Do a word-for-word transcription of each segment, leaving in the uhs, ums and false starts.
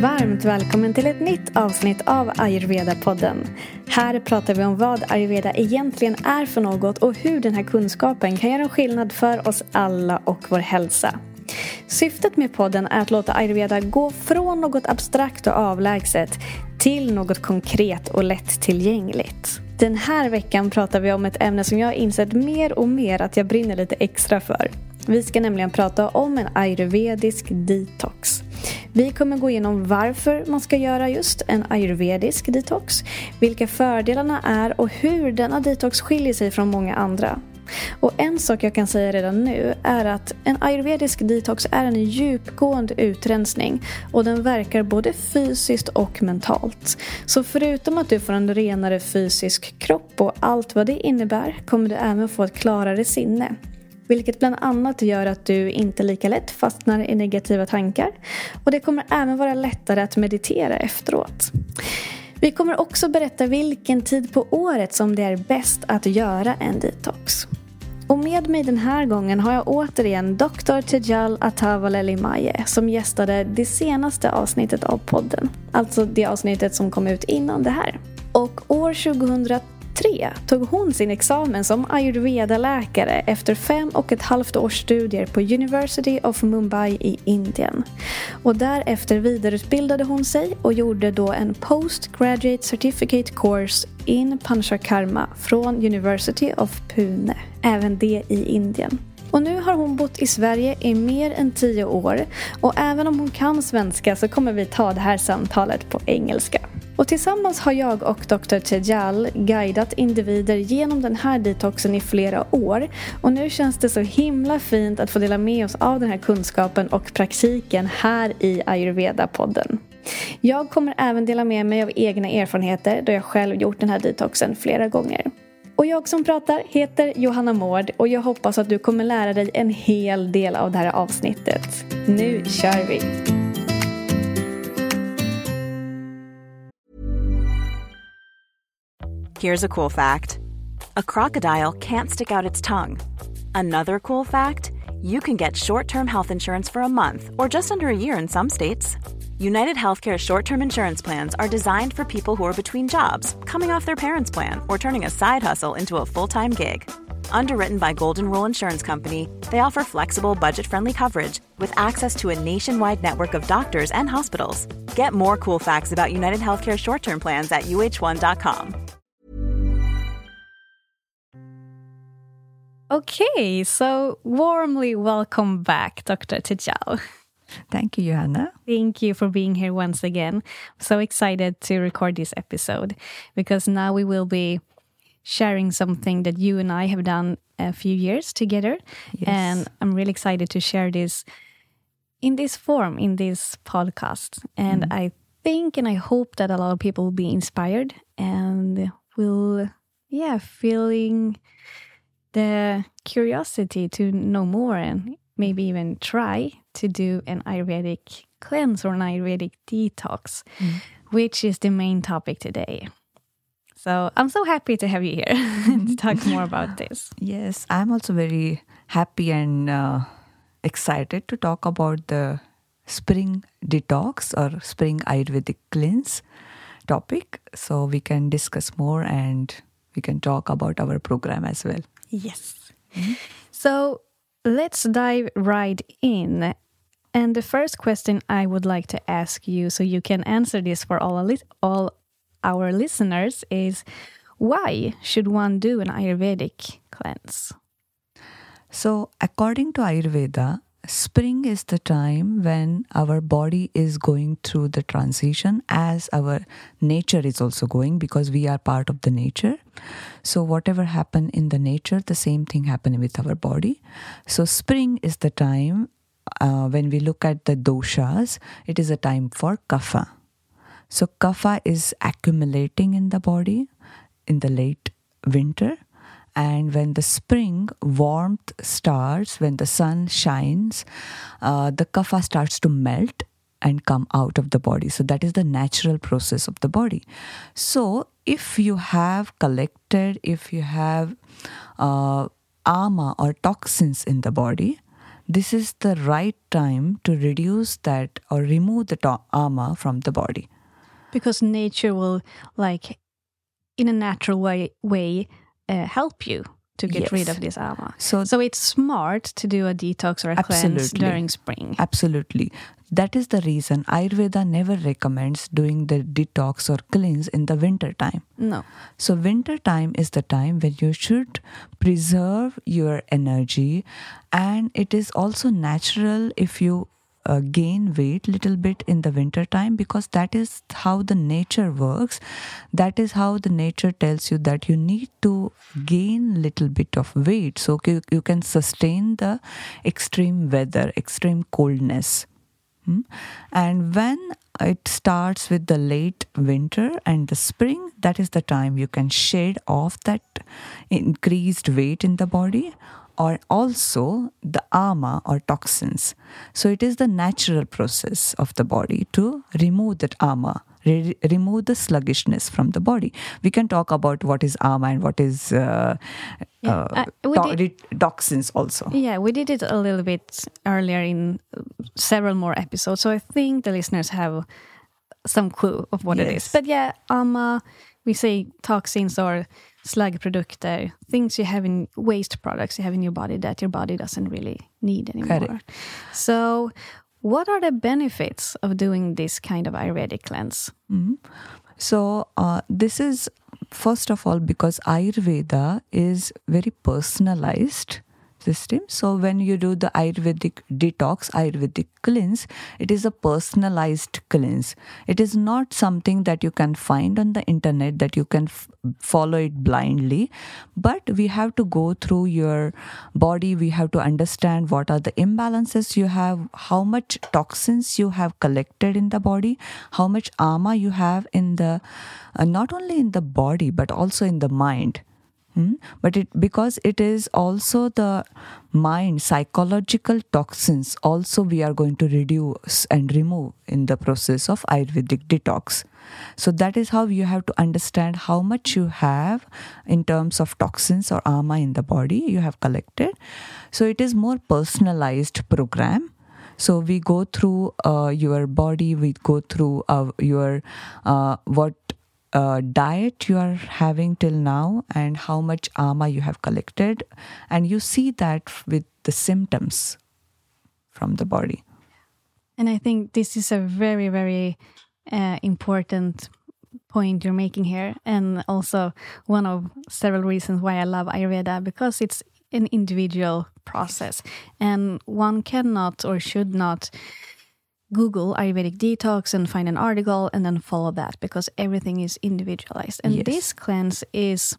Varmt välkommen till ett nytt avsnitt av Ayurveda-podden. Här pratar vi om vad Ayurveda egentligen är för något och hur den här kunskapen kan göra en skillnad för oss alla och vår hälsa. Syftet med podden är att låta Ayurveda gå från något abstrakt och avlägset till något konkret och lättillgängligt. Den här veckan pratar vi om ett ämne som jag har insett mer och mer att jag brinner lite extra för. Vi ska nämligen prata om en ayurvedisk detox. Vi kommer gå igenom varför man ska göra just en ayurvedisk detox, vilka fördelarna är och hur denna detox skiljer sig från många andra. Och en sak jag kan säga redan nu är att en ayurvedisk detox är en djupgående utrensning och den verkar både fysiskt och mentalt. Så förutom att du får en renare fysisk kropp och allt vad det innebär kommer du även få ett klarare sinne. Vilket bland annat gör att du inte lika lätt fastnar i negativa tankar. Och det kommer även vara lättare att meditera efteråt. Vi kommer också berätta vilken tid på året som det är bäst att göra en detox. Och med mig den här gången har jag återigen doktor Tejal Atavalelimaye som gästade det senaste avsnittet av podden. Alltså det avsnittet som kom ut innan det här. Och år tjugohundratre tog hon sin examen som ayurveda-läkare efter fem och ett halvt års studier på University of Mumbai i Indien. Och därefter vidareutbildade hon sig och gjorde då en Postgraduate Certificate Course in Panchakarma från University of Pune, även det i Indien. Och nu har hon bott i Sverige i mer än tio år och även om hon kan svenska så kommer vi ta det här samtalet på engelska. Och tillsammans har jag och doktor Tejal guidat individer genom den här detoxen i flera år. Och nu känns det så himla fint att få dela med oss av den här kunskapen och praktiken här i Ayurveda-podden. Jag kommer även dela med mig av egna erfarenheter då jag själv gjort den här detoxen flera gånger. Och jag som pratar heter Johanna Mård och jag hoppas att du kommer lära dig en hel del av det här avsnittet. Nu kör vi! Here's a cool fact. A crocodile can't stick out its tongue. Another cool fact, you can get short-term health insurance for a month or just under a year in some states. United Healthcare short-term insurance plans are designed for people who are between jobs, coming off their parents' plan, or turning a side hustle into a full-time gig. Underwritten by Golden Rule Insurance Company, they offer flexible, budget-friendly coverage with access to a nationwide network of doctors and hospitals. Get more cool facts about United Healthcare short-term plans at U H one dot com. Okay, so warmly welcome back, Doctor Tejal. Thank you, Johanna. Thank you for being here once again. I'm so excited to record this episode because now we will be sharing something that you and I have done a few years together. Yes. And I'm really excited to share this in this form, in this podcast. And mm. I think and I hope that a lot of people will be inspired and will, yeah, feeling the curiosity to know more and maybe even try to do an Ayurvedic cleanse or an Ayurvedic detox, mm. which is the main topic today. So I'm so happy to have you here to talk more about this. Yes, I'm also very happy and uh, excited to talk about the spring detox or spring Ayurvedic cleanse topic. So we can discuss more and we can talk about our program as well. Yes. Mm-hmm. So let's dive right in. And the first question I would like to ask you, so you can answer this for all, all our listeners, is why should one do an Ayurvedic cleanse? So according to Ayurveda, spring is the time when our body is going through the transition as our nature is also going, because we are part of the nature. So whatever happened in the nature, the same thing happened with our body. So spring is the time uh, when we look at the doshas, it is a time for kapha. So kapha is accumulating in the body in the late winter. And when the spring warmth starts, when the sun shines, uh, the kapha starts to melt and come out of the body. So that is the natural process of the body. So if you have collected, if you have uh, ama or toxins in the body, this is the right time to reduce that or remove the to- ama from the body. Because nature will, like, in a natural way, way uh, help you to get Yes. rid of this ama. So, So it's smart to do a detox or a cleanse Absolutely. during spring. Absolutely. That is the reason Ayurveda never recommends doing the detox or cleanse in the winter time. No. So winter time is the time when you should preserve your energy, and it is also natural if you uh, gain weight little bit in the winter time, because that is how the nature works. That is how the nature tells you that you need to gain little bit of weight so you, you can sustain the extreme weather, extreme coldness. Hmm? And when it starts with the late winter and the spring, that is the time you can shed off that increased weight in the body, or also the ama or toxins. So it is the natural process of the body to remove that ama, re- remove the sluggishness from the body. We can talk about what is ama and what is uh, Yeah, uh, uh, we to- did- re- toxins also. Yeah, we did it a little bit earlier in several more episodes, so I think the listeners have some clue of what it is. Yes. But yeah, ama, we say toxins or slaggprodukter, things you have in waste products you have in your body that your body doesn't really need anymore. Correct. So what are the benefits of doing this kind of Ayurvedic cleanse? Mhm. So uh, this is, first of all, because Ayurveda is very personalized system. So when you do the Ayurvedic detox, Ayurvedic cleanse, it is a personalized cleanse. It is not something that you can find on the internet, that you can f- follow it blindly. But we have to go through your body. We have to understand what are the imbalances you have, how much toxins you have collected in the body, how much ama you have in the, uh, not only in the body, but also in the mind. Hmm? But it because it is also the mind, psychological toxins also we are going to reduce and remove in the process of Ayurvedic detox. So that is how you have to understand how much you have in terms of toxins or ama in the body you have collected. So it is more personalized program. So we go through uh, your body, we go through uh, your uh, what Uh, diet you are having till now and how much ama you have collected, and you see that with the symptoms from the body. And I think this is a very, very uh, important point you're making here, and also one of several reasons why I love Ayurveda, because it's an individual process, and one cannot or should not Google Ayurvedic detox and find an article and then follow that, because everything is individualized. And Yes. this cleanse is,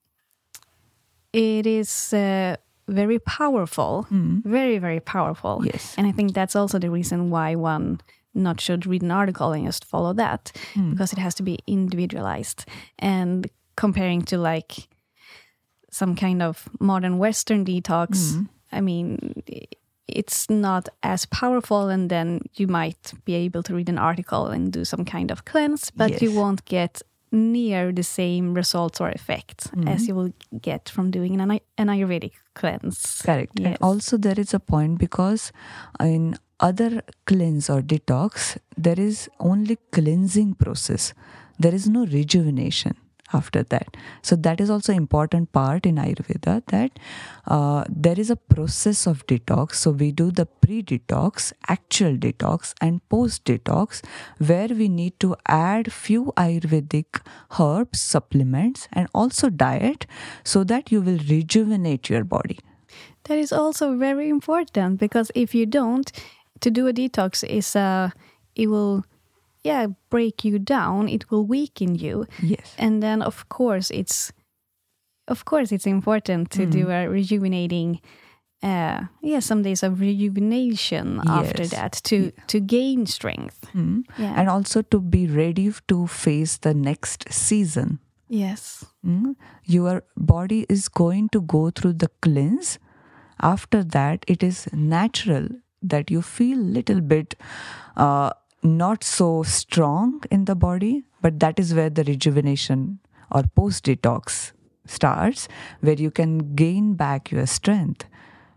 it is uh, very powerful, Mm. very, very powerful. Yes. And I think that's also the reason why one not should read an article and just follow that, Mm. because it has to be individualized. And comparing to like some kind of modern Western detox, Mm. I mean, it's not as powerful, and then you might be able to read an article and do some kind of cleanse, but you Yes. won't get near the same results or effects Mhm. as you will get from doing an, an Ayurvedic cleanse. Correct. Yes. And also there is a point, because in other cleanse or detox, there is only cleansing process. There is no rejuvenation after that. So that is also important part in Ayurveda, that uh, there is a process of detox. So we do the pre-detox, actual detox, and post-detox, where we need to add few Ayurvedic herbs, supplements, and also diet, so that you will rejuvenate your body. That is also very important, because if you don't, to do a detox is uh, it will yeah break you down, it will weaken you. Yes. And then of course it's of course it's important to do a rejuvenating uh yeah some days of rejuvenation after Yes. that to to gain strength. Mm. Yeah. And also to be ready to face the next season. Yes. Mm. Your body is going to go through the cleanse. After that, it is natural that you feel little bit uh, not so strong in the body, but that is where the rejuvenation or post-detox starts, where you can gain back your strength.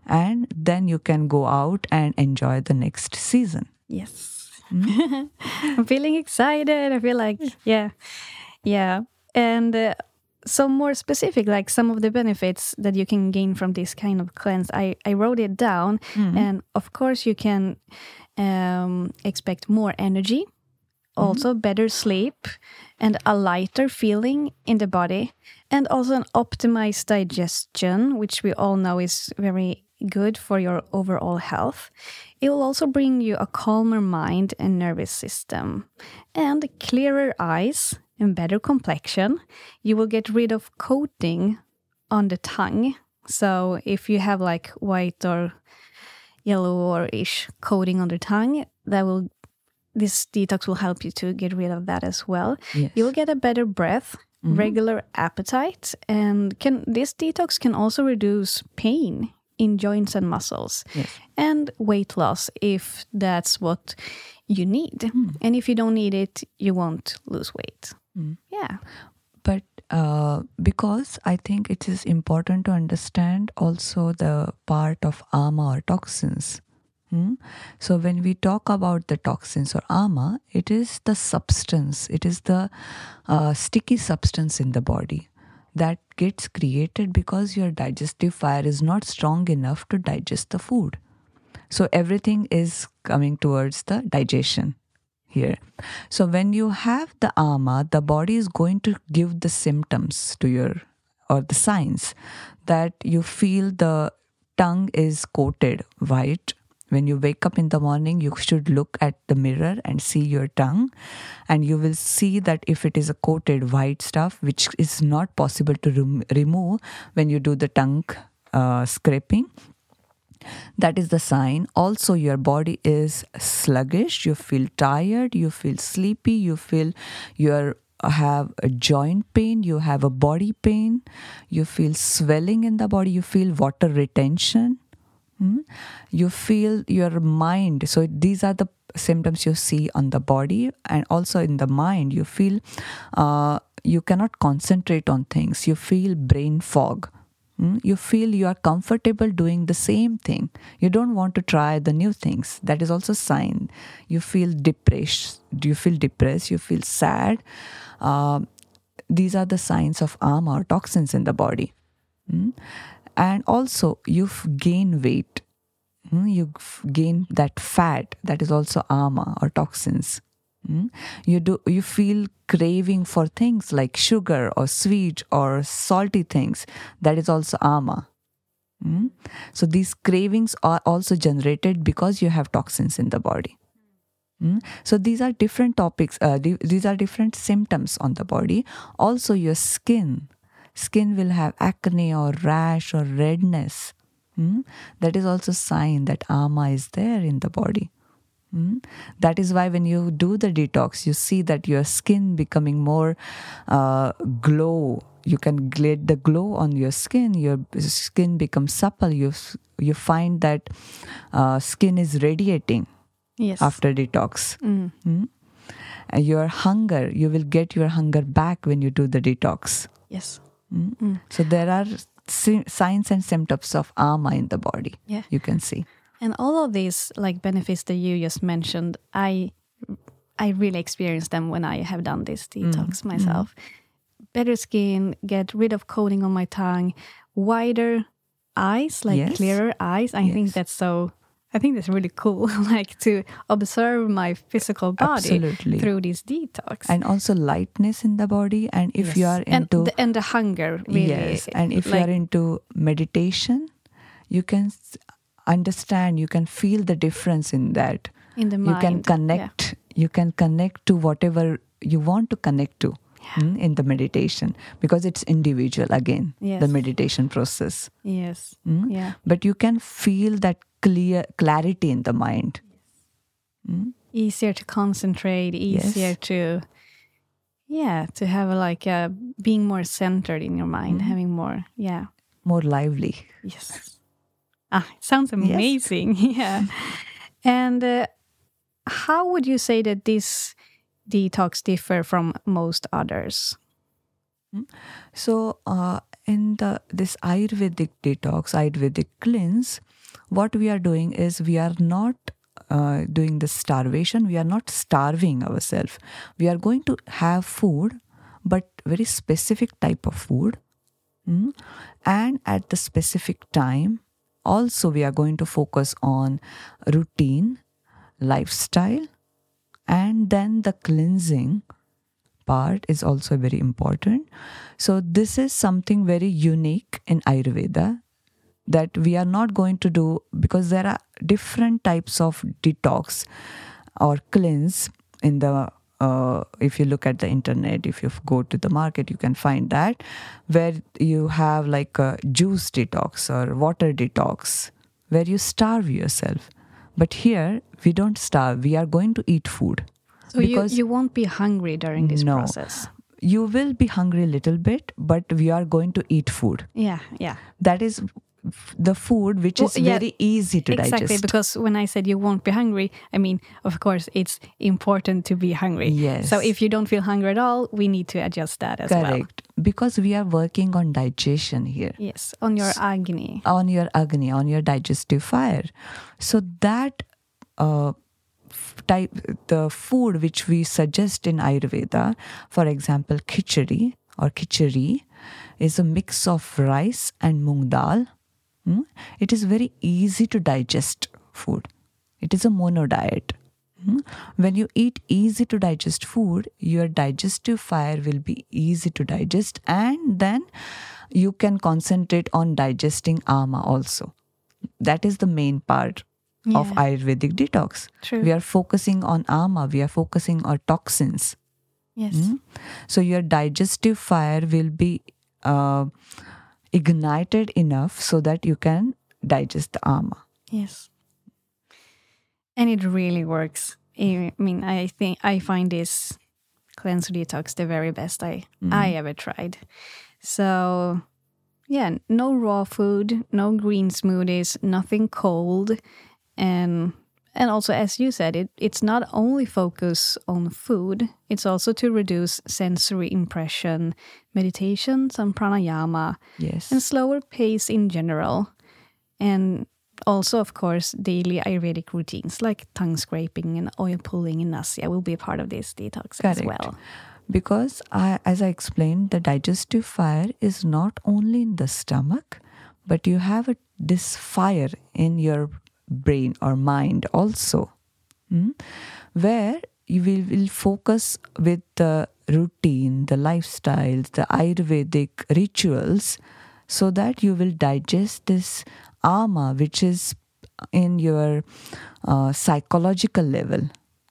and then you can go out and enjoy the next season. Yes. Mm. I'm feeling excited. I feel like, yeah. Yeah. And uh, some more specific, like some of the benefits that you can gain from this kind of cleanse. I, I wrote it down. Mm-hmm. And of course, you can um, expect more energy, mm-hmm. also better sleep, and a lighter feeling in the body, and also an optimized digestion, which we all know is very good for your overall health. It will also bring you a calmer mind and nervous system, and clearer eyes and better complexion. You will get rid of coating on the tongue. So if you have like white or yellow or ish coating on the tongue, that will this detox will help you to get rid of that as well. Yes. You will get a better breath, mm-hmm. regular appetite, and can this detox can also reduce pain in joints and muscles, yes. and weight loss if that's what you need. Mm. And if you don't need it, you won't lose weight. Mm. Yeah. But uh, because I think it is important to understand also the part of ama or toxins. Hmm? So when we talk about the toxins or ama, it is the substance, it is the uh, sticky substance in the body that gets created because your digestive fire is not strong enough to digest the food. So everything is coming towards the digestion here. So when you have the ama, the body is going to give the symptoms to your, or the signs that you feel the tongue is coated white. When you wake up in the morning, you should look at the mirror and see your tongue, and you will see that if it is a coated white stuff, which is not possible to rem- remove when you do the tongue uh, scraping, that is the sign. Also, your body is sluggish, you feel tired, you feel sleepy, you feel you have a joint pain, you have a body pain, you feel swelling in the body, you feel water retention. Hmm? You feel your mind. So these are the symptoms you see on the body, and also in the mind. You feel uh, you cannot concentrate on things. You feel brain fog. Hmm? You feel you are comfortable doing the same thing. You don't want to try the new things. That is also a sign. You feel depressed. Do you feel depressed? You feel sad. Uh, these are the signs of ama or toxins in the body. Hmm? And also, you gain weight. You gain that fat. That is also ama or toxins. You do. You feel craving for things like sugar or sweet or salty things. That is also ama. So these cravings are also generated because you have toxins in the body. So these are different topics. Uh, these are different symptoms on the body. Also, your skin. Skin will have acne or rash or redness. Hmm? That is also a sign that ama is there in the body. Hmm? That is why when you do the detox, you see that your skin becoming more uh, glow. You can get the glow on your skin. Your skin becomes supple. You you find that uh, skin is radiating yes. after detox. Mm. Hmm? And your hunger, you will get your hunger back when you do the detox. Yes. Mm. Mm. So there are si- signs and symptoms of ama in the body. Yeah. You can see. And all of these like benefits that you just mentioned, I I really experienced them when I have done this detox mm. myself. Mm. Better skin, get rid of coating on my tongue, wider eyes, like yes. clearer eyes. I yes. think that's so I think that's really cool, like to observe my physical body Absolutely. Through this detox. And also lightness in the body. And if yes. you are into... And the, and the hunger, really. Yes, and if like, you are into meditation, you can understand, you can feel the difference in that. In the mind. You can connect, yeah. you can connect to whatever you want to connect to. Yeah. Mm, in the meditation, because it's individual again, yes. the meditation process. Yes. Mm? Yeah. But you can feel that clear clarity in the mind. Yes. Mm? Easier to concentrate, easier yes. to, yeah, to have a, like a, being more centered in your mind, mm. having more, yeah. More lively. Yes. Ah, it sounds amazing. Yes. Yeah. And uh, how would you say that this detox differ from most others? So uh, in the this Ayurvedic detox, Ayurvedic cleanse, what we are doing is we are not uh, doing the starvation. We are not starving ourselves. We are going to have food, but very specific type of food. Mm? And at the specific time, also we are going to focus on routine, lifestyle, and then the cleansing part is also very important. So this is something very unique in Ayurveda that we are not going to do, because there are different types of detox or cleanse in the uh, if you look at the internet, if you go to the market, you can find that, where you have like a juice detox or water detox, where you starve yourself. But here we don't starve, we are going to eat food. So you, you won't be hungry during this no, process? You will be hungry a little bit, but we are going to eat food. Yeah, yeah. That is the food which well, is yeah, very easy to exactly, digest. Exactly, because when I said you won't be hungry, I mean, of course, it's important to be hungry. Yes. So if you don't feel hungry at all, we need to adjust that as Correct. well. Correct. Because we are working on digestion here. Yes, on your Agni. On your Agni, on your digestive fire. So that uh, type, the food which we suggest in Ayurveda, for example, khichdi or khichdi, is a mix of rice and moong dal. Hmm? It is very easy to digest food. It is a mono diet. Hmm? When you eat easy to digest food, your digestive fire will be easy to digest, and then you can concentrate on digesting ama also. That is the main part yeah. of Ayurvedic detox. True. We are focusing on ama, we are focusing on toxins. Yes. Hmm? So your digestive fire will be uh, ignited enough so that you can digest the ama. Yes. And it really works. I mean, I think I find this cleanse detox the very best I mm. I ever tried. So, yeah, no raw food, no green smoothies, nothing cold, and and also, as you said, it it's not only focus on food; it's also to reduce sensory impression, meditation, some pranayama, yes, and slower pace in general, and also, of course, daily Ayurvedic routines like tongue scraping and oil pulling in Nasya will be a part of this detox Correct. as well. Because, I, as I explained, the digestive fire is not only in the stomach, but you have a, this fire in your brain or mind also, hmm? where you will, will focus with the routine, the lifestyles, the Ayurvedic rituals, so that you will digest this ama, which is in your uh, psychological level,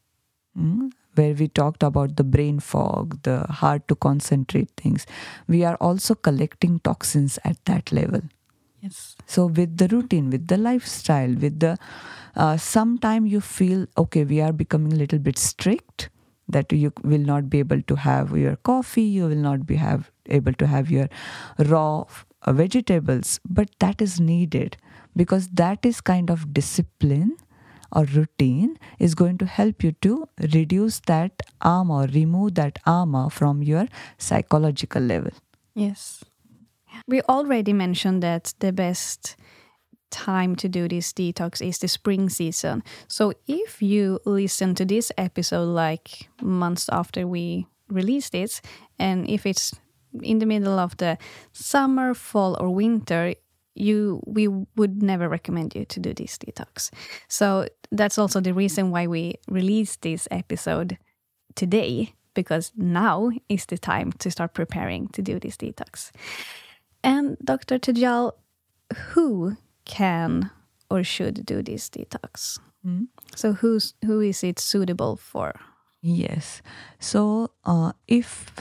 mm? where we talked about the brain fog, the hard to concentrate things. We are also collecting toxins at that level. Yes. So with the routine, with the lifestyle, with the uh, sometime you feel, okay, we are becoming a little bit strict, that you will not be able to have your coffee, you will not be have able to have your raw uh, vegetables, but that is needed, because that is kind of discipline or routine is going to help you to reduce that ama or remove that ama from your psychological level. Yes. We already mentioned that the best time to do this detox is the spring season. So if you listen to this episode like months after we release this, and if it's in the middle of the summer, fall or winter, you we would never recommend you to do this detox. So that's also the reason why we released this episode today, because now is the time to start preparing to do this detox. And Doctor Tejal, who can or should do this detox? Mm. So who's who is it suitable for? Yes. So uh, if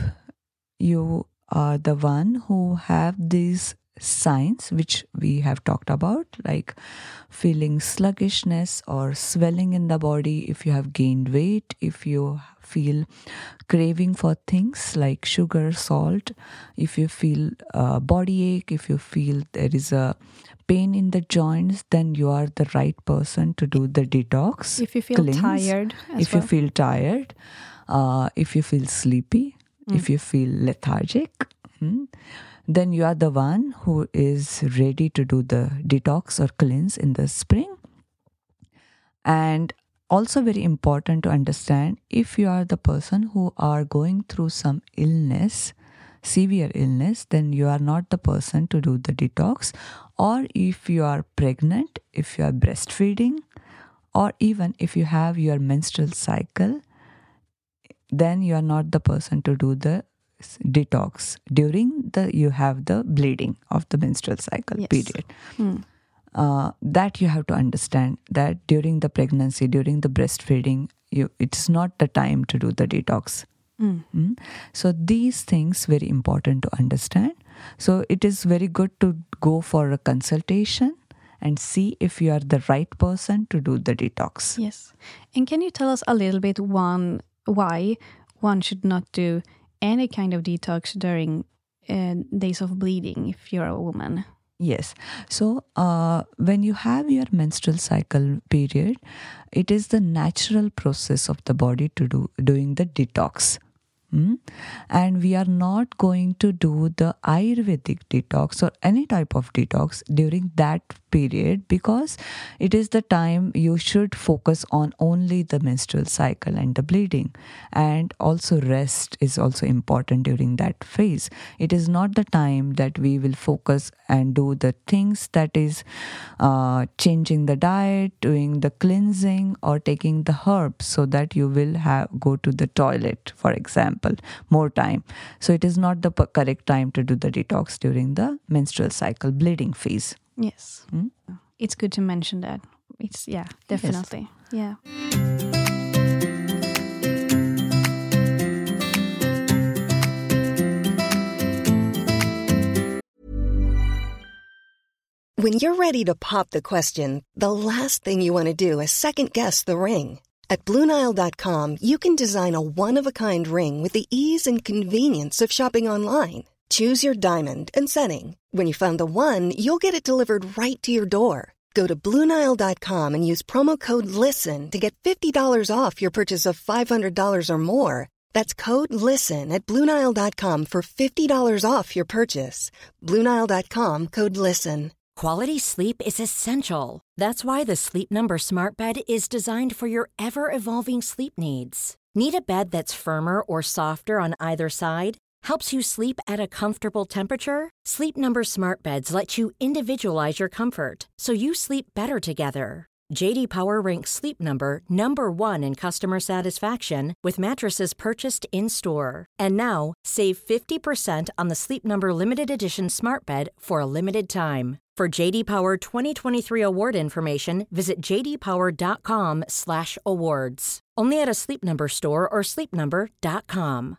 you are the one who have these signs which we have talked about, like feeling sluggishness or swelling in the body, if you have gained weight, if you feel craving for things like sugar, salt, if you feel uh, body ache, if you feel there is a pain in the joints, then you are the right person to do the detox. If you feel cleanse. tired as If well. you feel tired, uh, if you feel sleepy, mm. if you feel lethargic, hmm, then you are the one who is ready to do the detox or cleanse in the spring. And also very important to understand, if you are the person who are going through some illness, severe illness, then you are not the person to do the detox. Or if you are pregnant, if you are breastfeeding, or even if you have your menstrual cycle, then you are not the person to do the detox during the you have the bleeding of the menstrual cycle Yes. period. Mm. Uh, that you have to understand that during the pregnancy, during the breastfeeding, you, it's not the time to do the detox. Mm. Mm? So these things very important to understand. So it is very good to go for a consultation and see if you are the right person to do the detox. Yes. And can you tell us a little bit one why one should not do any kind of detox during uh, days of bleeding if you're a woman? Yes. So uh, when you have your menstrual cycle period, it is the natural process of the body to do doing the detox. Mm? And we are not going to do the Ayurvedic detox or any type of detox during that period, because it is the time you should focus on only the menstrual cycle and the bleeding. And also rest is also important during that phase. It is not the time that we will focus and do the things that is uh, changing the diet, doing the cleansing, or taking the herbs so that you will have go to the toilet, for example, more time. So it is not the p- correct time to do the detox during the menstrual cycle bleeding phase. Yes. Mm? It's good to mention that. It's, yeah, definitely. Yeah. When you're ready to pop the question, the last thing you want to do is second-guess the ring. At Blue Nile dot com, you can design a one-of-a-kind ring with the ease and convenience of shopping online. Choose your diamond and setting. When you find the one, you'll get it delivered right to your door. Go to Blue Nile dot com and use promo code LISTEN to get fifty dollars off your purchase of five hundred dollars or more. That's code LISTEN at Blue Nile dot com for fifty dollars off your purchase. Blue Nile dot com, code LISTEN. Quality sleep is essential. That's why the Sleep Number Smart Bed is designed for your ever-evolving sleep needs. Need a bed that's firmer or softer on either side? Helps you sleep at a comfortable temperature? Sleep Number Smart Beds let you individualize your comfort, so you sleep better together. J D Power ranks Sleep Number number one in customer satisfaction with mattresses purchased in-store. And now, save fifty percent on the Sleep Number Limited Edition Smart Bed for a limited time. For J D Power twenty twenty-three award information, visit j d power dot com slash awards. Only at a Sleep Number store or sleep number dot com.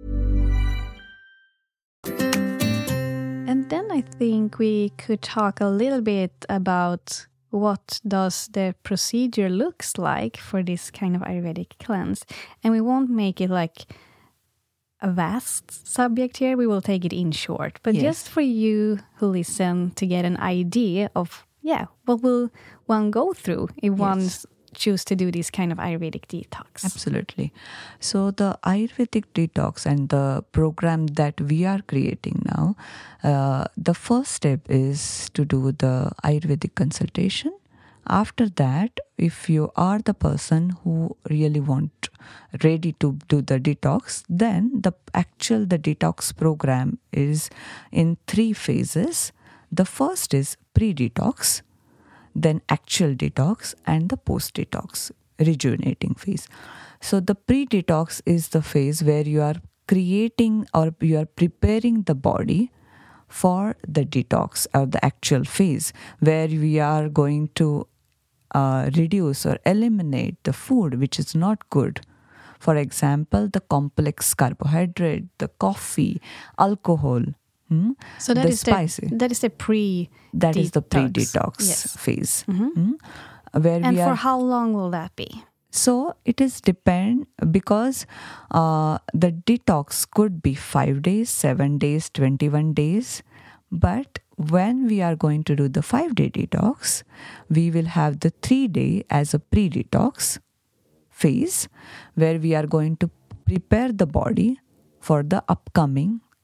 And then I think we could talk a little bit about what does the procedure looks like for this kind of Ayurvedic cleanse. And we won't make it like a vast subject here. We will take it in short. But Yes. just for you who listen to get an idea of, yeah, what will one go through if one choose to do this kind of Ayurvedic detox? Absolutely. So the Ayurvedic detox and the program that we are creating now, uh, the first step is to do the Ayurvedic consultation. After that, if you are the person who really want ready to do the detox, then the actual the detox program is in three phases. The first is pre-detox, then actual detox, and the post-detox, rejuvenating phase. So the pre-detox is the phase where you are creating or you are preparing the body for the detox or the actual phase, where we are going to uh, reduce or eliminate the food which is not good. For example, the complex carbohydrate, the coffee, alcohol. Hmm? So that the is spicy. the that is the pre That is the pre-detox Yes. phase. Mhm. Hmm? Where And we for are, how long will that be? so it is depend because uh, the detox could be five days, seven days, twenty-one days. But when we are going to do the five-day detox, we will have the three-day as a pre-detox phase, where we are going to prepare the body for the upcoming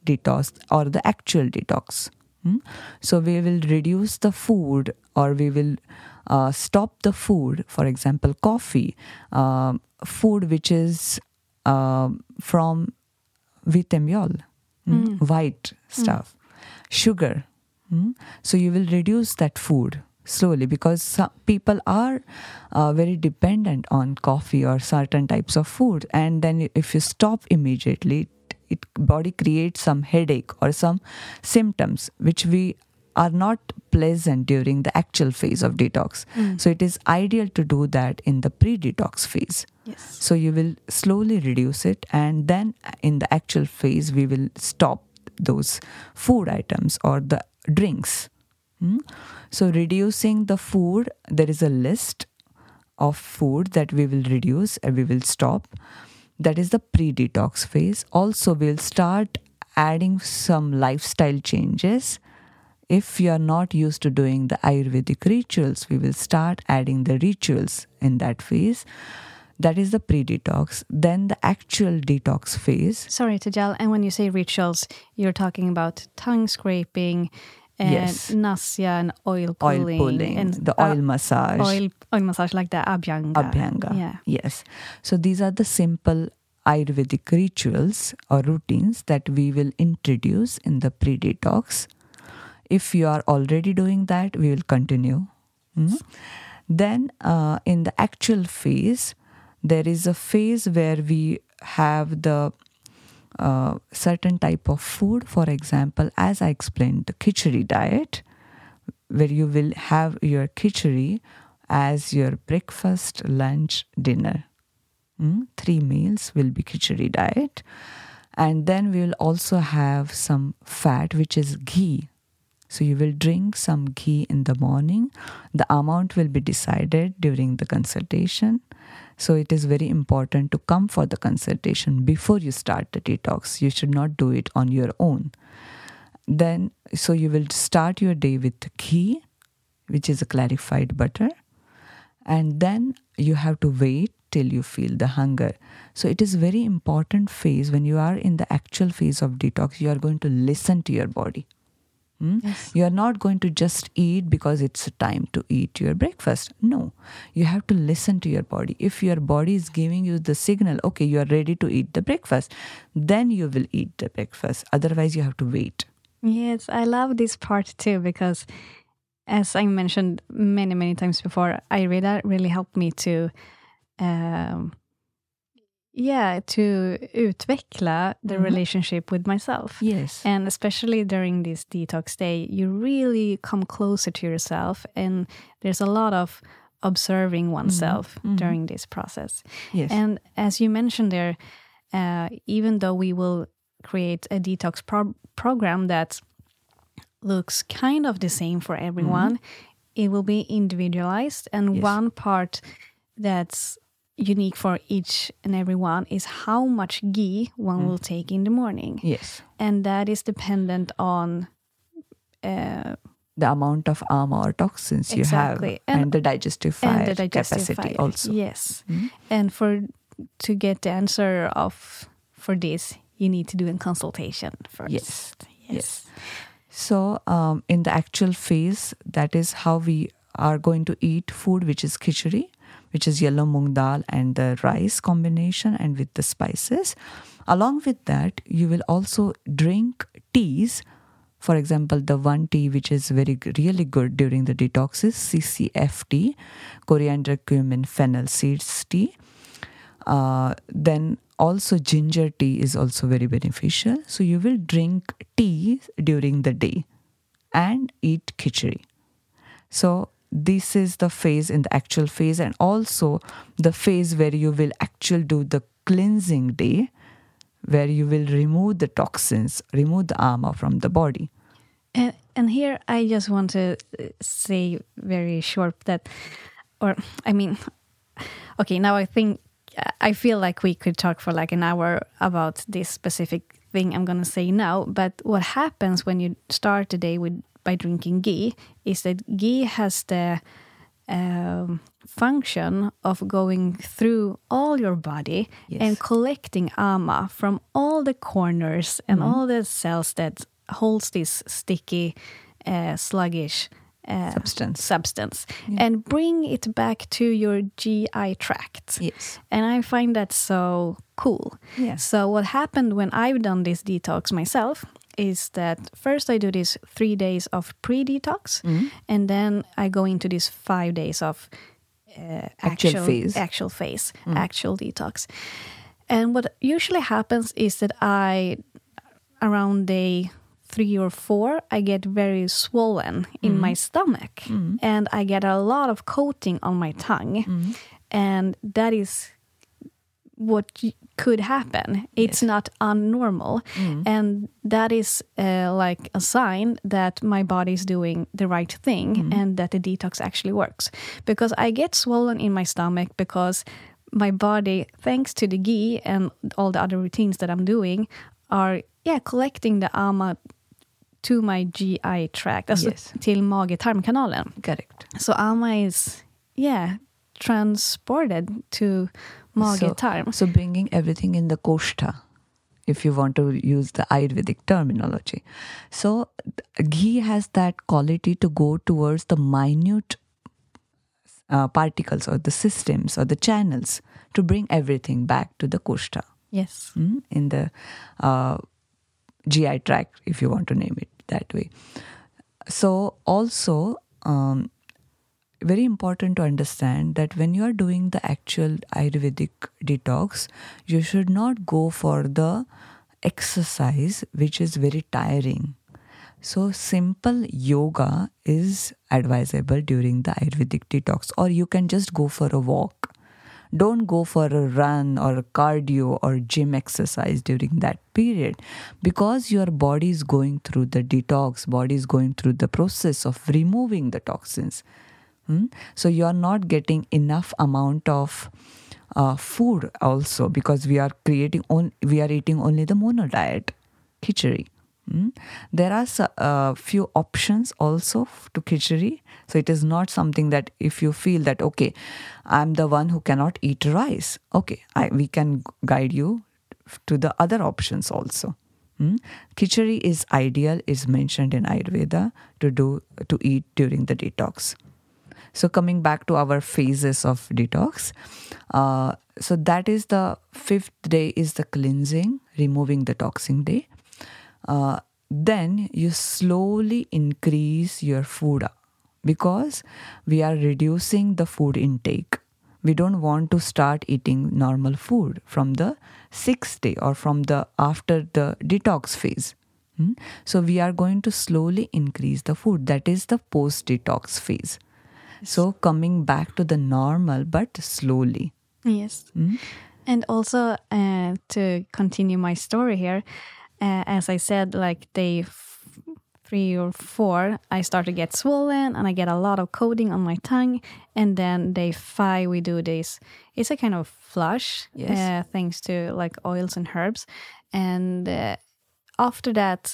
detox or the actual detox. Hmm? So we will reduce the food, or we will uh, stop the food, for example, coffee, uh, food which is uh, from wheat meal, hmm? Mm. white stuff, mm. sugar. Hmm? So you will reduce that food slowly, because some people are uh, very dependent on coffee or certain types of food, and then if you stop immediately, it body creates some headache or some symptoms which we are not pleasant during the actual phase of detox. Mm. So it is ideal to do that in the pre-detox phase. Yes. So you will slowly reduce it, and then in the actual phase we will stop those food items or the drinks. Hmm? So reducing the food, there is a list of food that we will reduce and we will stop. That is the pre-detox phase. Also, we'll start adding some lifestyle changes. If you are not used to doing the Ayurvedic rituals, we will start adding the rituals in that phase. That is the pre-detox. Then the actual detox phase. Sorry, Tejal, and when you say rituals, you're talking about tongue scraping, and yes. nasya and oil pulling. Oil pulling, and the oil uh, massage. Oil, oil massage like the abhyanga. Abhyanga, yeah. Yes. So these are the simple Ayurvedic rituals or routines that we will introduce in the pre-detox. If you are already doing that, we will continue. Mm-hmm. Then uh, in the actual phase, there is a phase where we have the uh, certain type of food. For example, as I explained, the khichdi diet, where you will have your khichdi as your breakfast, lunch, dinner. Mm? Three meals will be khichdi diet. And then we will also have some fat, which is ghee. So you will drink some ghee in the morning. The amount will be decided during the consultation. So it is very important to come for the consultation before you start the detox. You should not do it on your own. Then, so you will start your day with ghee, which is a clarified butter. And then you have to wait till you feel the hunger. So it is very important phase. When you are in the actual phase of detox, you are going to listen to your body. Hmm? Yes. You are not going to just eat because it's time to eat your breakfast. No, you have to listen to your body. If your body is giving you the signal, okay, you are ready to eat the breakfast, then you will eat the breakfast. Otherwise, you have to wait. Yes, I love this part too, because as I mentioned many, many times before, Ayurveda really helped me to um, Yeah, to utveckla the mm-hmm. relationship with myself. Yes. And especially during this detox day, you really come closer to yourself, and there's a lot of observing oneself mm-hmm. during this process. Yes. And as you mentioned there, uh, even though we will create a detox pro- program that looks kind of the same for everyone, mm-hmm. it will be individualized, and yes. one part that's unique for each and every one is how much ghee one mm. will take in the morning. Yes. And that is dependent on uh, the amount of ama or toxins you exactly. have and, and the digestive fire and the digestive capacity fire. also. Yes. Mm. And for to get the answer of for this, you need to do a consultation first. Yes. Yes. yes. So um, in the actual phase, that is how we are going to eat food, which is khichdi, which is yellow moong dal and the rice combination and with the spices. Along with that, you will also drink teas. For example, the one tea which is very really good during the detox is C C F tea, coriander, cumin, fennel seeds tea. Uh, then also ginger tea is also very beneficial. So you will drink tea during the day and eat khichdi. So this is the phase in the actual phase, and also the phase where you will actually do the cleansing day, where you will remove the toxins, remove the ama from the body. And and here I just want to say very short that, or I mean, okay, now I think, I feel like we could talk for like an hour about this specific thing I'm going to say now, but what happens when you start the day with by drinking ghee is that ghee has the um, function of going through all your body Yes. and collecting ama from all the corners and Mm-hmm. all the cells that holds this sticky, uh, sluggish uh, Substance. substance and bring it back to your G I tract. Yes. And I find that so cool. Yes. So what happened when I've done this detox myself is that first I do this three days of pre-detox, and then I go into this five days of uh, Actual actual phase. actual phase, actual detox. And what usually happens is that I, around day three or four, I get very swollen in my stomach, and I get a lot of coating on my tongue, and that is what y- could happen. It's not unnormal, and that is uh, like a sign that my body is doing the right thing and that the detox actually works. Because I get swollen in my stomach because my body, thanks to the ghee and all the other routines that I'm doing, are yeah collecting the ama to my G I tract, alltså Yes. till mage-tarmkanalen. Correct. So ama is yeah transported to mage-tarm. So, so bringing everything in the koshta, if you want to use the Ayurvedic terminology. So th- ghee has that quality to go towards the minute uh, particles or the systems or the channels to bring everything back to the koshta, Yes. mm, in the uh, G I tract, if you want to name it that way. So also, um, very important to understand that when you are doing the actual Ayurvedic detox, you should not go for the exercise which is very tiring. So simple yoga is advisable during the Ayurvedic detox, or you can just go for a walk. Don't go for a run or a cardio or gym exercise during that period, because your body is going through the detox, body is going through the process of removing the toxins. Hmm? So you are not getting enough amount of uh, food also, because we are creating on, we are eating only the mono diet, khichdi. Hmm? There are a uh, few options also f- to khichdi. So it is not something that if you feel that, okay, I'm the one who cannot eat rice, okay, I, we can guide you f- to the other options also. Hmm? Khichdi is ideal, is mentioned in Ayurveda to do to eat during the detox. So coming back to our phases of detox, uh, so that is the fifth day is the cleansing, removing the toxin day. Uh, then you slowly increase your food, because we are reducing the food intake. We don't want to start eating normal food from the sixth day or from the after the detox phase. Hmm? So we are going to slowly increase the food. That is the post-detox phase. So coming back to the normal, but slowly. Yes. And also uh, to continue my story here, uh, as I said, like day f- three or four, I start to get swollen and I get a lot of coating on my tongue. And then day five, we do this. It's a kind of flush, Yes. uh, thanks to like oils and herbs. And uh, after that,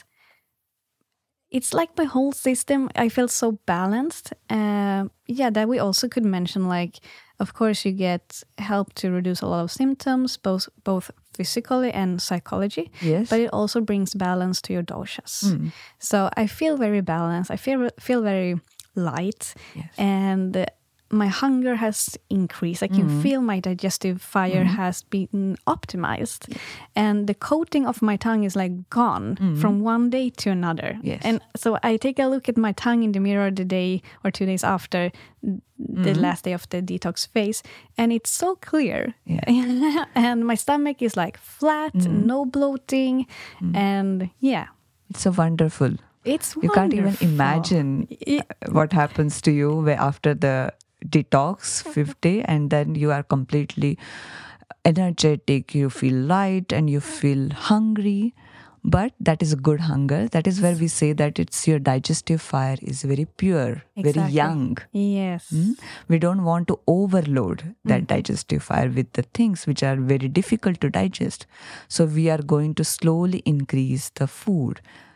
it's like my whole system, I feel so balanced. Uh, yeah, that we also could mention, like, of course, you get help to reduce a lot of symptoms, both both physically and psychology. Yes. But it also brings balance to your doshas. So I feel very balanced. I feel feel very light. Yes. And uh, my hunger has increased. I can feel my digestive fire has been optimized. And the coating of my tongue is like gone from one day to another. Yes. And so I take a look at my tongue in the mirror the day or two days after the last day of the detox phase, and it's so clear. Yeah. And my stomach is like flat, no bloating, and yeah, It's a wonderful. it's You can't even wonderful. imagine It- what happens to you where after the detox fifth day, and then you are completely energetic, you feel light and you feel hungry. But that is a good hunger. That is where we say that it's your digestive fire is very pure, very Exactly. young. Yes. Mm? We don't want to overload that digestive fire with the things which are very difficult to digest. So we are going to slowly increase the food.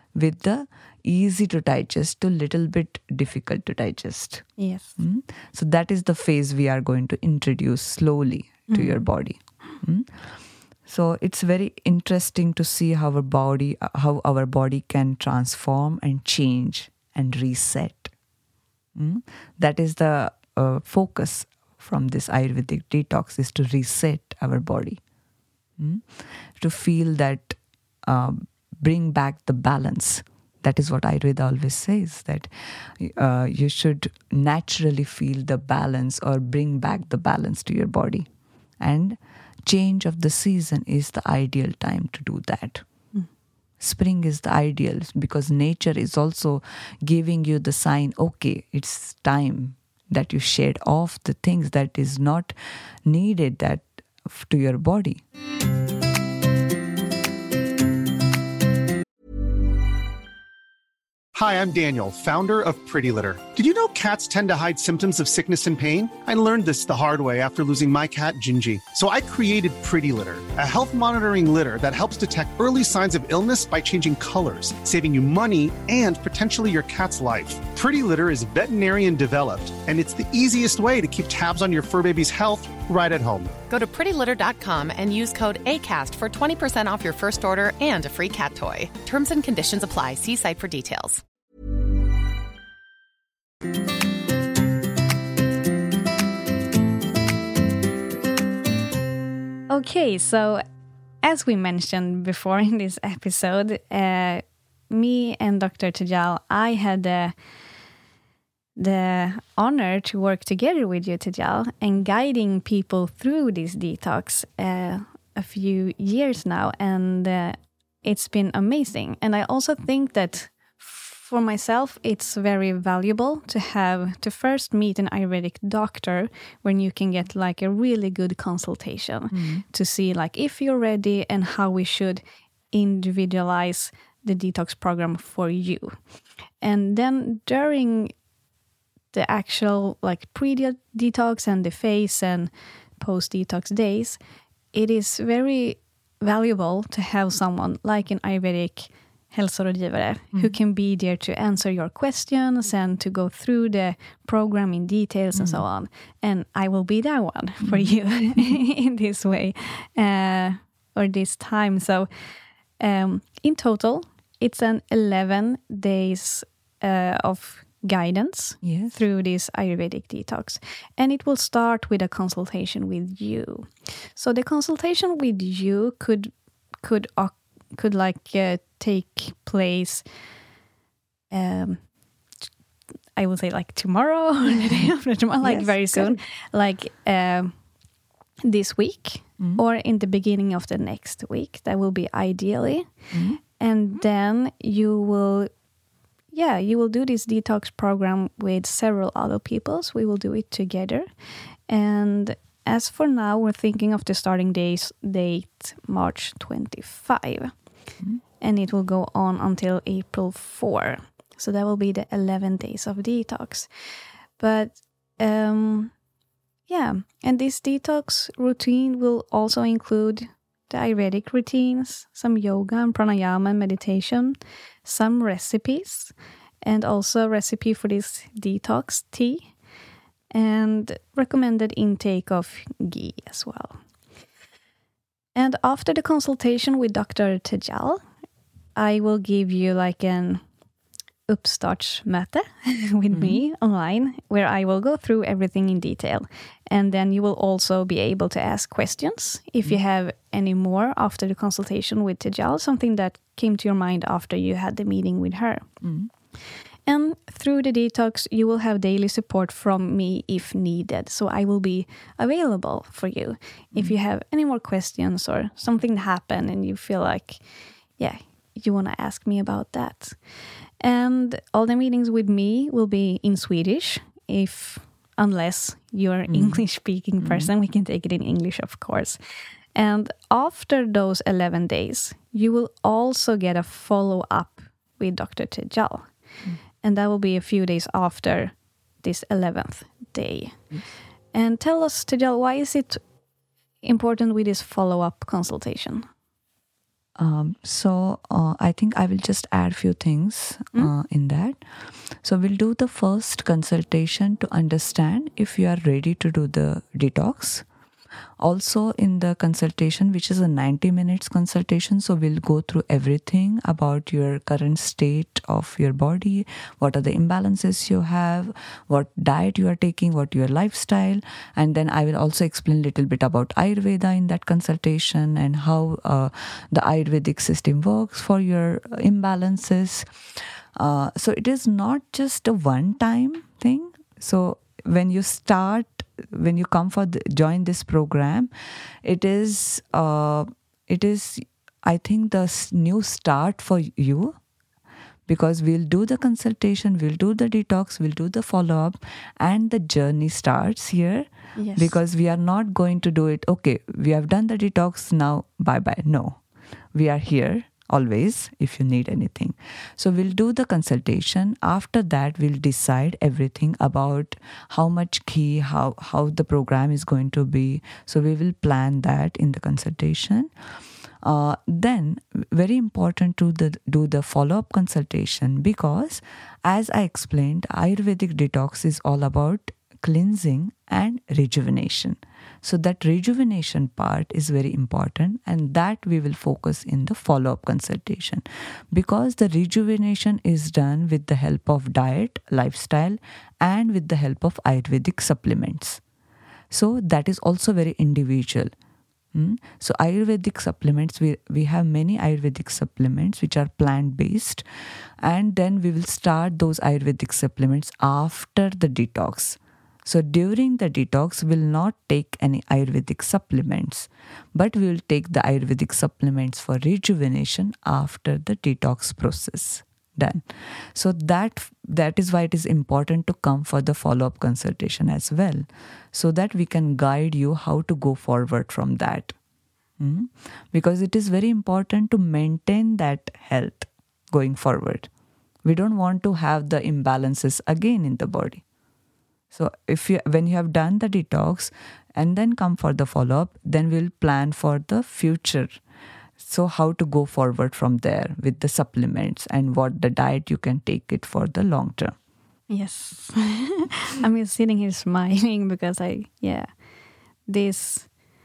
with the easy to digest to little bit difficult to digest. Yes. Mm? So that is the phase we are going to introduce slowly to mm. your body. Mm? So it's very interesting to see how our body, how our body can transform and change and reset. Mm? That is the uh, focus from this Ayurvedic detox, is to reset our body. Mm? To feel that, um, bring back the balance. That is what Ayurveda always says, that uh, you should naturally feel the balance or bring back the balance to your body. And change of the season is the ideal time to do that. Mm. Spring is the ideal because nature is also giving you the sign, okay, it's time that you shed off the things that is not needed that to your body. Hi, I'm Daniel, founder of Pretty Litter. Did you know cats tend to hide symptoms of sickness and pain? I learned this the hard way after losing my cat, Gingy. So I created Pretty Litter, a health monitoring litter that helps detect early signs of illness by changing colors, saving you money and potentially your cat's life. Pretty Litter is veterinarian developed, and it's the easiest way to keep tabs on your fur baby's health right at home. Go to pretty litter dot com and use code ACAST for twenty percent off your first order and a free cat toy. Terms and conditions apply. See site for details. Okay, so as we mentioned before in this episode, uh, me and Doctor Tejal, I had the, the honor to work together with you, Tejal, and guiding people through this detox uh, a few years now, and uh, it's been amazing. And I also think that for myself, it's very valuable to have to first meet an Ayurvedic doctor when you can get like a really good consultation mm. to see like if you're ready and how we should individualize the detox program for you. And then during the actual like pre-detox and the phase and post-detox days, it is very valuable to have someone like an Ayurvedic hälsorådgivare mm. who can be there to answer your questions and to go through the program in details mm. and so on. And I will be that one for mm. you in this way uh, or this time. So um, in total, it's an eleven days uh, of guidance yes. through this Ayurvedic detox. And it will start with a consultation with you. So the consultation with you could could occur could like uh, take place um I would say like tomorrow or the day after tomorrow, like yes, very soon good. like um this week mm-hmm. or in the beginning of the next week. That will be ideally mm-hmm. and then you will yeah you will do this detox program with several other people, so we will do it together. And as for now, we're thinking of the starting days, date March twenty-fifth. Mm-hmm. And it will go on until April fourth. So that will be the eleven days of detox. But um, yeah, and this detox routine will also include the Ayurvedic routines, some yoga and pranayama and meditation, some recipes, and also a recipe for this detox tea, and recommended intake of ghee as well. And after the consultation with Doctor Tejal, I will give you like an uppstartsmöte with mm-hmm. me online, where I will go through everything in detail. And then you will also be able to ask questions if mm-hmm. you have any more after the consultation with Tejal, something that came to your mind after you had the meeting with her. Mm-hmm. And through the detox, you will have daily support from me if needed. So I will be available for you mm-hmm. if you have any more questions or something happened and you feel like, yeah, you want to ask me about that. And all the meetings with me will be in Swedish, if unless you're an mm-hmm. English-speaking person. Mm-hmm. We can take it in English, of course. And after those eleven days, you will also get a follow-up with Doctor Tejal. Mm-hmm. And that will be a few days after this eleventh day. Mm. And tell us, Tejal, why is it important with this follow-up consultation? Um, so uh, I think I will just add few things uh, Mm. in that. So we'll do the first consultation to understand if you are ready to do the detox. Also in the consultation, which is a ninety minutes consultation, so we'll go through everything about your current state of your body, what are the imbalances you have, what diet you are taking, what your lifestyle, and then I will also explain a little bit about Ayurveda in that consultation and how uh, the Ayurvedic system works for your imbalances. Uh, so it is not just a one-time thing. So when you start, when you come for the, join this program, it is uh, it is I think the s- new start for you, because we'll do the consultation, we'll do the detox, we'll do the follow up, and the journey starts here. Yes. Because we are not going to do it. Okay, we have done the detox, now bye bye. No, we are here always if you need anything. So we'll do the consultation. After that, we'll decide everything about how much ghee, how, how the program is going to be. So we will plan that in the consultation. Uh, then, very important to the, do the follow-up consultation, because as I explained, Ayurvedic detox is all about cleansing and rejuvenation. So that rejuvenation part is very important, and that we will focus in the follow-up consultation, because the rejuvenation is done with the help of diet, lifestyle, and with the help of Ayurvedic supplements. So that is also very individual. Mm? So Ayurvedic supplements, we, we have many Ayurvedic supplements which are plant-based, and then we will start those Ayurvedic supplements after the detox. So during the detox, we will not take any Ayurvedic supplements, but we will take the Ayurvedic supplements for rejuvenation after the detox process done. So that that is why it is important to come for the follow-up consultation as well, so that we can guide you how to go forward from that. Mm? Because it is very important to maintain that health going forward. We don't want to have the imbalances again in the body. So if you, when you have done the detox and then come for the follow-up, then we'll plan for the future. So how to go forward from there with the supplements and what the diet you can take it for the long term. Yes. I'm just sitting here smiling because I, yeah, this,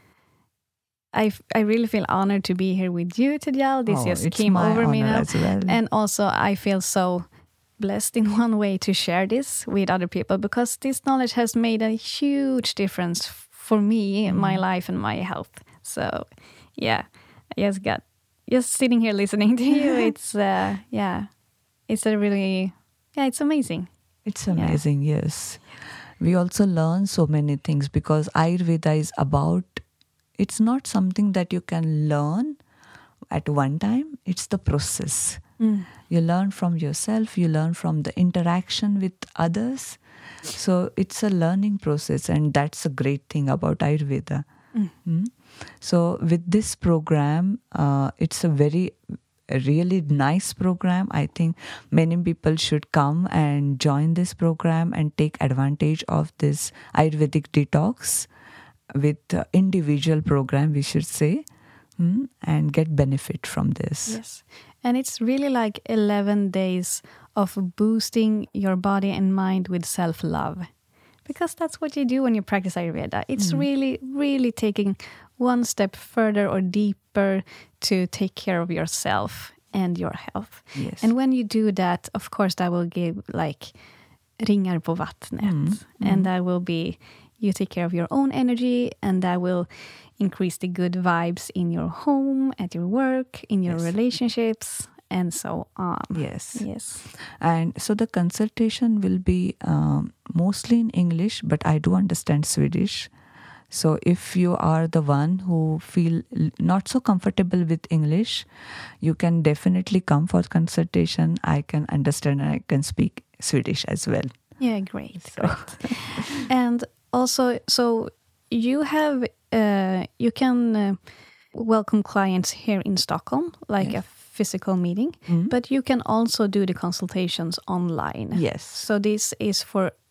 I, I really feel honored to be here with you, Tejal. This Oh, just it's came my over me honor now. as well. And also I feel so blessed in one way to share this with other people, because this knowledge has made a huge difference for me, Mm. my life and my health. So yeah, I just got, just sitting here listening to you, it's, uh, yeah, it's a really, yeah, it's amazing. It's amazing, yes. We also learn so many things, because Ayurveda is about, it's not something that you can learn at one time, it's the process. Mm. You learn from yourself, you learn from the interaction with others. So it's a learning process, and that's a great thing about Ayurveda. Mm. Mm. So with this program, uh, it's a very, a really nice program. I think many people should come and join this program and take advantage of this Ayurvedic detox with uh, individual program, we should say, mm, and get benefit from this. Yes. And it's really like eleven days of boosting your body and mind with self-love. Because that's what you do when you practice Ayurveda. It's Mm. really, really taking one step further or deeper to take care of yourself and your health. Yes. And when you do that, of course, that will give like ringar på vattnet. Mm. And that will be, you take care of your own energy, and that will increase the good vibes in your home, at your work, in your Yes. relationships, and so on. Yes. Yes. And so the consultation will be um, mostly in English, but I do understand Swedish. So if you are the one who feel l- not so comfortable with English, you can definitely come for consultation. I can understand and I can speak Swedish as well. Yeah, great. So- Great. And also, so you have, uh, you can uh, welcome clients here in Stockholm, like Yes. a physical meeting, Mm. but you can also do the consultations online. Yes. So this is for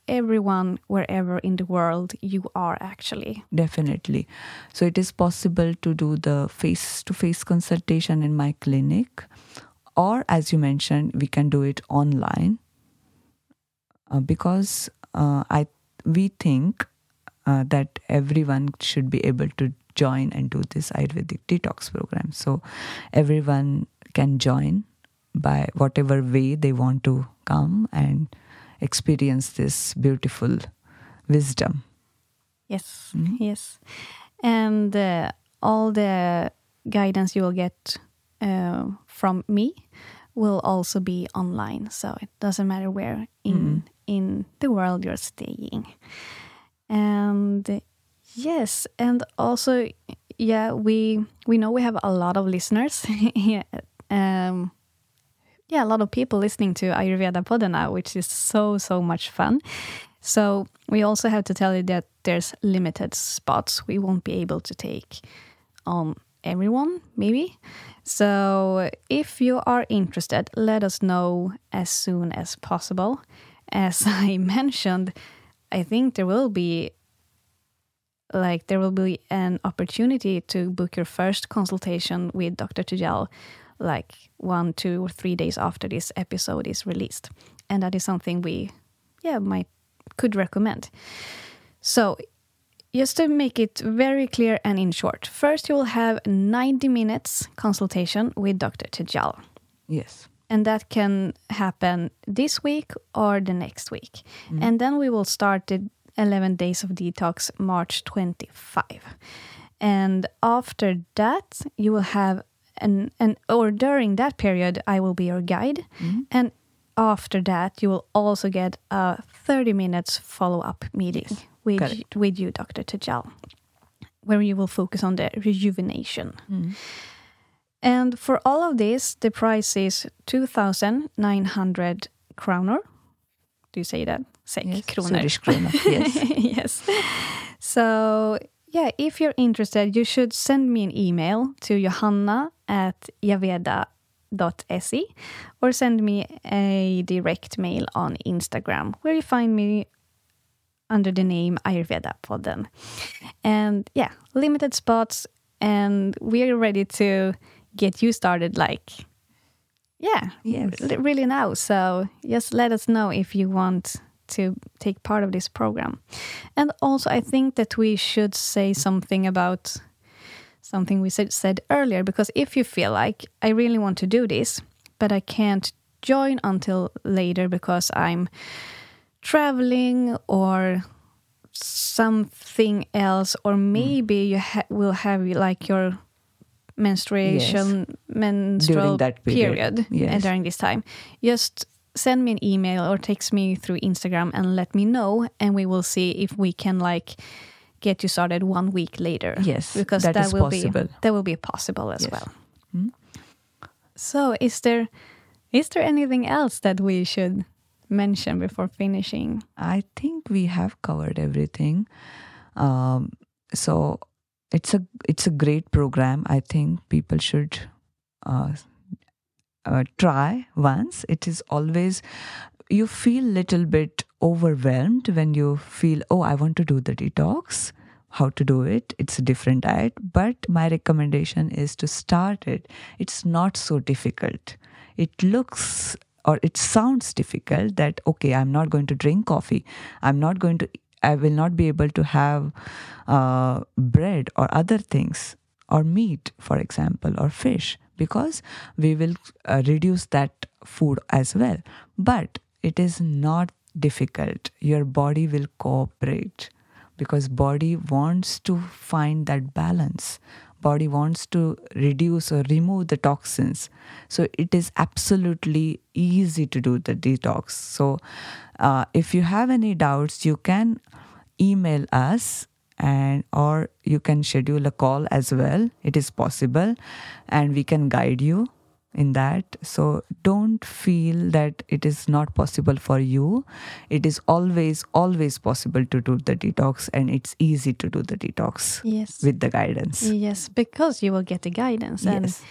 everyone wherever in the world you are actually. Definitely. So it is possible to do the face-to-face consultation in my clinic, or as you mentioned, we can do it online uh, because uh, I we think uh, that everyone should be able to join and do this Ayurvedic detox program. So everyone can join by whatever way they want to come and experience this beautiful wisdom. Yes, Mm-hmm. yes. And uh, all the guidance you will get uh, from me will also be online. So it doesn't matter where in, Mm-hmm. in the world you're staying. And uh, yes, and also, yeah, we we know we have a lot of listeners. yeah, um, yeah, a lot of people listening to Ayurveda Podden now, which is so, so much fun. So we also have to tell you that there's limited spots. We won't be able to take on everyone, maybe. So if you are interested, let us know as soon as possible. As I mentioned, I think there will be like there will be an opportunity to book your first consultation with Doctor Tejal like one, two, or three days after this episode is released. And that is something we, yeah, might could recommend. So just to make it very clear and in short, first you will have a ninety minutes consultation with Doctor Tejal. Yes. And that can happen this week or the next week. Mm. And then we will start the eleven days of detox March twenty-fifth. And after that, you will have an, an or during that period, I will be your guide. Mm-hmm. And after that, you will also get a thirty minutes follow-up meeting yes. with, with you, Doctor Tejal, where you will focus on the rejuvenation. Mm. And for all of this, the price is two thousand nine hundred kronor. Do you say that? Sek, yes, kronor. Swedish kronor, yes. yes. So, yeah, if you're interested, you should send me an email to johanna at ayurveda dot se or send me a direct mail on Instagram, where you find me under the name Ayurveda Podden. And, yeah, limited spots, and we're ready to get you started like, yeah, yes. r- really now. So just let us know if you want to take part of this program. And also, I think that we should say something about something we said, said earlier, because if you feel like, I really want to do this, but I can't join until later because I'm traveling or something else, or maybe mm. you ha- will have like your menstruation, yes. menstrual that period, period yes. during this time, just send me an email or text me through Instagram and let me know, and we will see if we can like get you started one week later. Yes, because that, that is will possible. be that will be possible as yes. well. Hmm? So, is there is there anything else that we should mention before finishing? I think we have covered everything. Um, so. It's a it's a great program. I think people should uh, uh, try once. It is always, you feel little bit overwhelmed when you feel, oh, I want to do the detox. How to do it? It's a different diet. But my recommendation is to start it. It's not so difficult. It looks or it sounds difficult that, okay, I'm not going to drink coffee. I'm not going to I will not be able to have uh, bread or other things, or meat, for example, or fish, because we will uh, reduce that food as well. But it is not difficult. Your body will cooperate because body wants to find that balance. Body wants to reduce or remove the toxins. So it is absolutely easy to do the detox. So uh, if you have any doubts, you can email us, and or you can schedule a call as well. It is possible, and we can guide you in that. So don't feel that it is not possible for you. It is always, always possible to do the detox, and it's easy to do the detox yes. with the guidance. Yes, because you will get the guidance. And yes.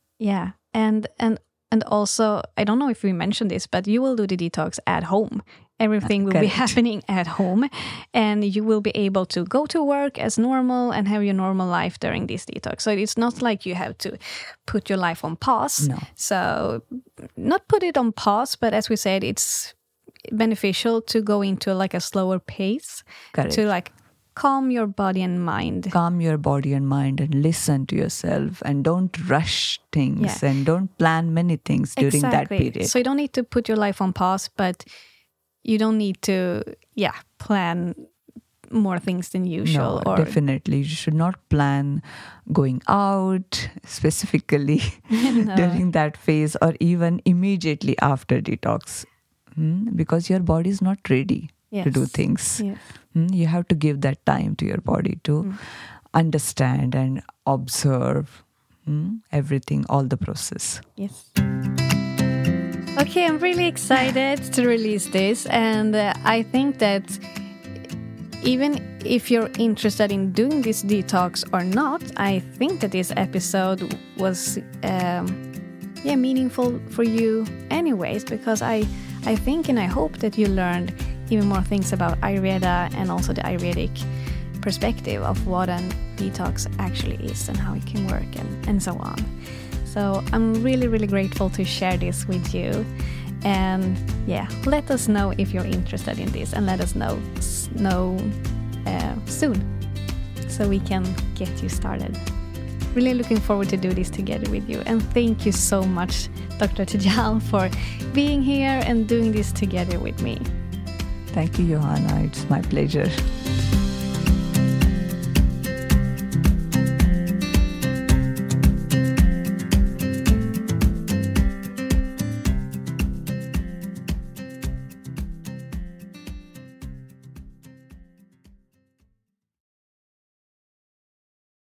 Yeah, and and and also, I don't know if we mentioned this, but you will do the detox at home. Everything will Correct. be happening at home, and you will be able to go to work as normal and have your normal life during this detox. So it's not like you have to put your life on pause. No. So not put it on pause, but as we said, it's beneficial to go into like a slower pace. Correct. To like calm your body and mind. Calm your body and mind and listen to yourself, and don't rush things Yeah. and don't plan many things during that Exactly. period. So you don't need to put your life on pause, but you don't need to, yeah, plan more things than usual. No, or definitely. You should not plan going out specifically during that phase, or even immediately after detox, Hmm? because your body is not ready to do Yes. things. Yes. Hmm? You have to give that time to your body to Mm. understand and observe hmm? everything, all the process. Yes. Okay, I'm really excited to release this, and uh, I think that even if you're interested in doing this detox or not, I think that this episode was um, yeah meaningful for you anyways, because I I think and I hope that you learned even more things about Ayurveda and also the Ayurvedic perspective of what a detox actually is and how it can work and, and so on. So I'm really, really grateful to share this with you. And yeah, let us know if you're interested in this, and let us know, know uh, soon so we can get you started. Really looking forward to do this together with you. And thank you so much, Doctor Tejal, for being here and doing this together with me. Thank you, Johanna. It's my pleasure.